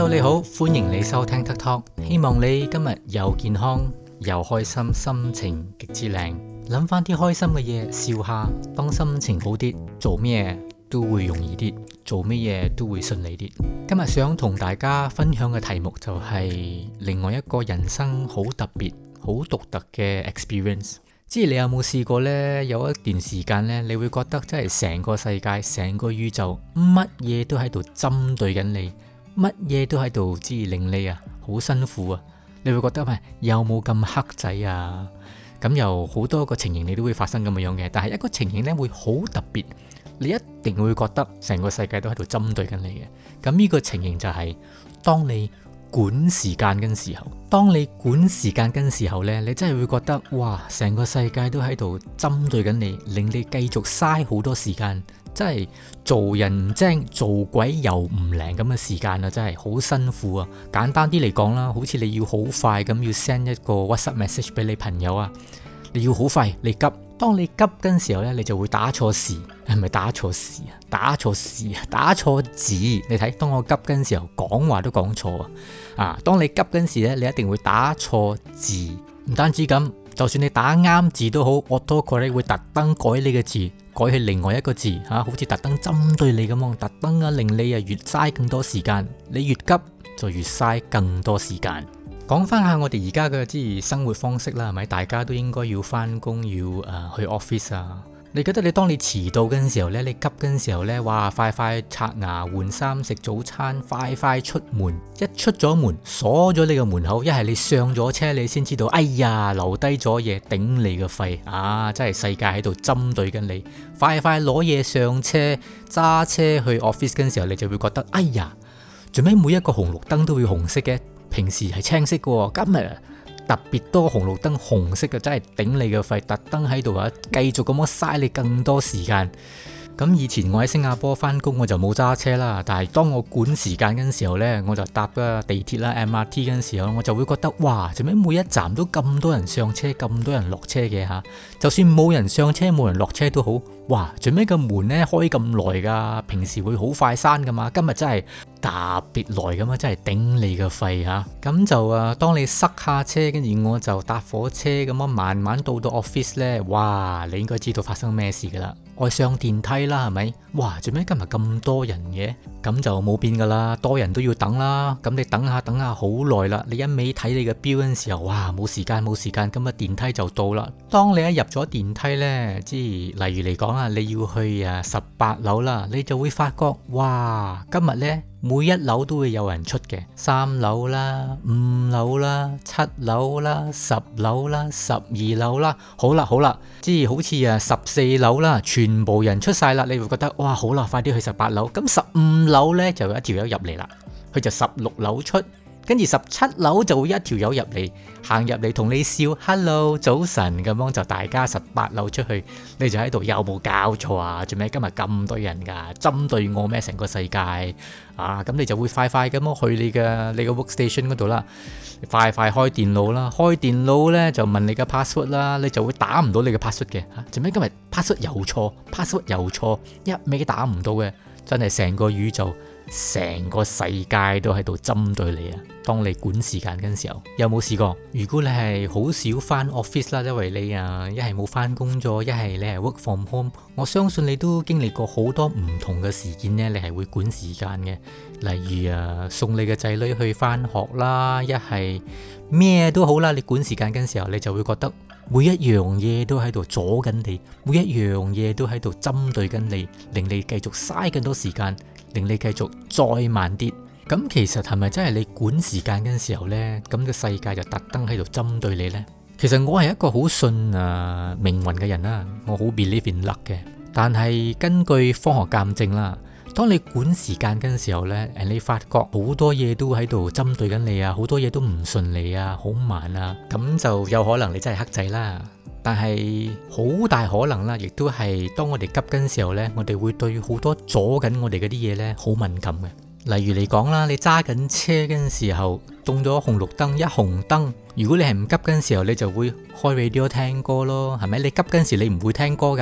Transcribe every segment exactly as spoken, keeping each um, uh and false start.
Hello， 你好，歡迎你收聽 Tuck Talk， 希望你今日又健康又開心，心情極之靚。諗翻啲開心嘅嘢，笑下。當心情好啲，做咩都會容易啲，做咩嘢都會順利啲。今日想同大家分享嘅題目就係另外一個人生好特別、好獨特嘅 experience。知你有冇試過呢？有一段時間呢，你會覺得真係成個世界、成個宇宙，乜嘢都喺度針對緊你，乜嘢都喺度知令你啊好辛苦啊！你會覺得咪有冇咁黑仔啊？咁有好多個情形你都會發生咁樣嘅，但係一個情形呢會好特別，你一定會覺得成個世界都喺度針對緊你嘅。咁呢個情形就係當你管時間嘅時候，當你管時間嘅時候呢，你真係會覺得哇，成個世界都喺度針對緊你，令你繼續嘥好多時間，真係做人唔精，做鬼又唔靈咁嘅時間啊，真係好辛苦啊！簡單啲嚟講啦，好似你要好快咁要 send 一個 WhatsApp message 俾你朋友啊，你要好快，你急。當你急嘅時候呢，你就會打錯時，係咪打錯時啊？打錯時啊？打錯字。你睇，當我急嘅時候，講話都講錯啊！啊，當你急嘅時呢，你一定會打錯字。唔單止咁，就算你打啱字都好，autocorrect會特登改你嘅字，改去另外一個字嚇、啊，好似特登針對你咁樣，特登啊令你啊越嘥更多時間。你越急就越嘥更多時間。講翻下我哋而家嘅即係生活方式啦，係咪？大家都應該要翻工，要誒、呃、去 office 啊。你覺得你當你遲到嘅時候呢，你急嘅時候呢，哇！快快刷牙、換衫、食早餐，快快出門。一出咗門，鎖咗你個門口，一係你上咗車，你先知道，哎呀，留低咗嘢頂你個肺啊！真係世界喺度針對緊你。快快攞嘢上車，揸車去 office 嘅時候，你就會覺得，哎呀，做咩每一個紅綠燈都會紅色嘅？平時係青色嘅，今日特別多紅綠燈紅色嘅，真係頂你個肺，特登喺度啊，繼續咁樣嘥你更多時間。咁以前我喺新加坡翻工，我就冇揸車啦，但係當我管時間嘅時候呢，我就搭個地鐵啦 M R T 嘅時候，我就會覺得哇，做咩每一站都咁多人上車，咁多人落車嘅吓？就算冇人上車，冇人落車都好，哇，做咩個門呢開咁耐噶？平時會好快閂噶嘛，今日真係特別耐咁啊，真係頂你個肺吓！咁就啊，當你塞下車，跟住我就搭火車咁樣慢慢到到 office 呢，哇，你應該知道發生咩事噶啦。我上電梯啦，係咪？哇，做咩今日咁多人嘅？咁就冇變噶啦，多人都要等啦。咁你等下等下好耐啦，你一味睇你嘅錶嘅時候，哇，冇時間冇時間，咁啊電梯就到啦。當你一入咗電梯呢，即係例如嚟講啊，你要去啊十八樓啦，你就會發覺，哇，今日呢，每一樓都會有人出嘅，三樓啦、五樓啦、七樓啦、十樓啦、十二樓啦，好啦好啦，即係好似啊十四樓啦，全部人出晒啦，你會覺得哇好啦，快啲去十八樓。咁十五樓呢，就有一條友入嚟啦，佢就十六樓出。跟住十七樓就會一條友入嚟，行入嚟同你笑 ，hello 早晨咁樣，就大家十八樓出去，你就喺度有冇搞錯啊？做咩今日咁多人噶？針對我咩？成個世界啊！咁你就會快快咁樣去你嘅你個 workstation 嗰度啦，快快開電腦啦，開電腦呢就問你嘅 password 啦，你就會打唔到你嘅 password 嘅嚇。做咩今日 password 又錯，password 又錯，一味打唔到嘅，真係成個宇宙。成個世界都喺度針對你啊！當你管時間嘅時候，有冇試過？如果你係好少翻 office 啦，因為你啊一係冇翻工作，一係你係 work from home，我相信你都經歷過好多唔同嘅事件呢，你係會管時間嘅。例如啊，送你嘅仔女去翻學啦，一係咩都好啦，你管時間嘅時候，你就會覺得每一樣嘢都喺度阻緊你，每一樣嘢都喺度針對緊你，令你繼續嘥更多時間。令你繼續再慢啲，咁其實係咪真係你管時間嘅時候呢？咁個世界就特登喺度針對你呢？其實我係一個好信啊命運嘅人啦，我好 believe in luck 嘅。但係根據科學鑑證啦，當你管時間嘅時候呢，誒你發覺好多嘢都喺度針對緊你啊，好多嘢都唔順利啊，好慢啊，咁就有可能你真係黑仔啦。但係好大可能啦，亦都係當我哋急緊時候呢，我哋會對好多阻緊我哋嗰啲嘢呢好敏感嘅。例如嚟講啦，你揸緊車嘅時候，中咗紅綠燈，一紅燈，如果你係唔急嘅時候，你就會開 radio 聽歌咯，係咪？你急嘅時你唔會聽歌噶，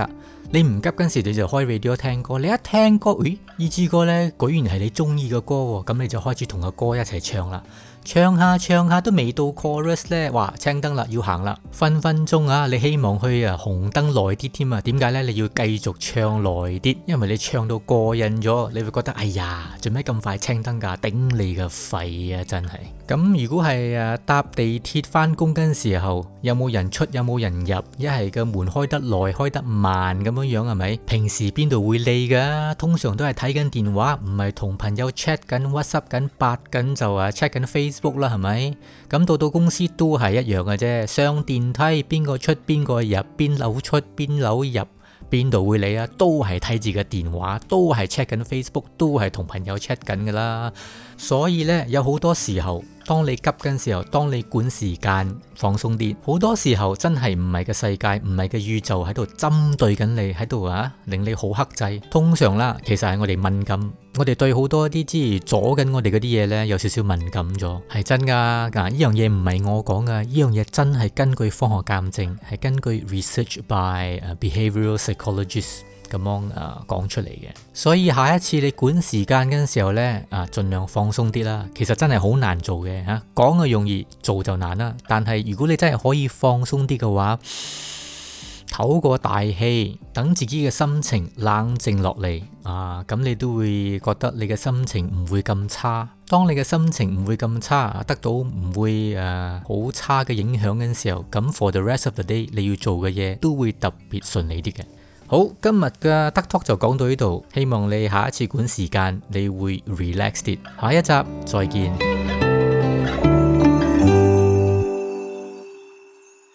你唔急嗰陣時，你就開 radio 聽歌。你一聽歌，咦，呢支歌呢，居然係你中意嘅歌喎，咁你就開始同個歌一齊唱啦。唱下唱下都未到 chorus 咧，哇，青燈啦，要行啦，分分鐘啊，你希望去啊紅燈耐啲添啊？點解呢？你要繼續唱耐啲，因為你唱到過癮咗，你會覺得哎呀，做咩咁快青燈㗎？頂你個肺啊！真係。咁如果係誒搭地鐵翻工嗰陣時候，有冇人出，有冇人入，一係個門開得耐，開得慢咁樣樣係咪？平時邊度會理㗎？通常都係睇緊電話，唔係同朋友 chat 緊 WhatsApp 緊八緊就啊 check 緊 Facebook 啦，係咪？咁到到公司都係一樣嘅啫。上電梯邊個出邊個入，邊樓出邊樓入，邊度會理啊？都係睇住個電話，都係 check 緊 Facebook，都係同朋友 check 緊噶啦。所以呢，有好多時候，當你急緊時候，當你管時間放鬆啲，好多時候真係唔係個世界，唔係個宇宙喺度針對緊你，喺度啊令你好克制。通常啦，其實係我哋敏感，我哋對好多啲之阻緊我哋嗰啲嘢呢，有少少敏感咗，係真噶。嗱，呢樣嘢唔係我講噶，呢樣嘢真係根據科學鑑證，係根據 research by behavioral psychologists 咁樣啊講出嚟嘅。所以下一次你管時間嗰陣時候呢，啊盡量放鬆啲啦。其實真係好難做嘅吓，講就容易，做就難啦。但係如果你真係可以放鬆啲嘅話，唞個大氣，等自己嘅心情冷靜落嚟啊，咁你都會覺得你嘅心情唔會咁差。當你嘅心情唔會咁差，得到唔會誒好差嘅影響嘅時候，咁 for the rest of the day 你要做嘅嘢都會特別順利啲嘅。好，今日嘅得 talk 就講到呢度，希望你下一次管時間你會 relax 啲。下一集再見。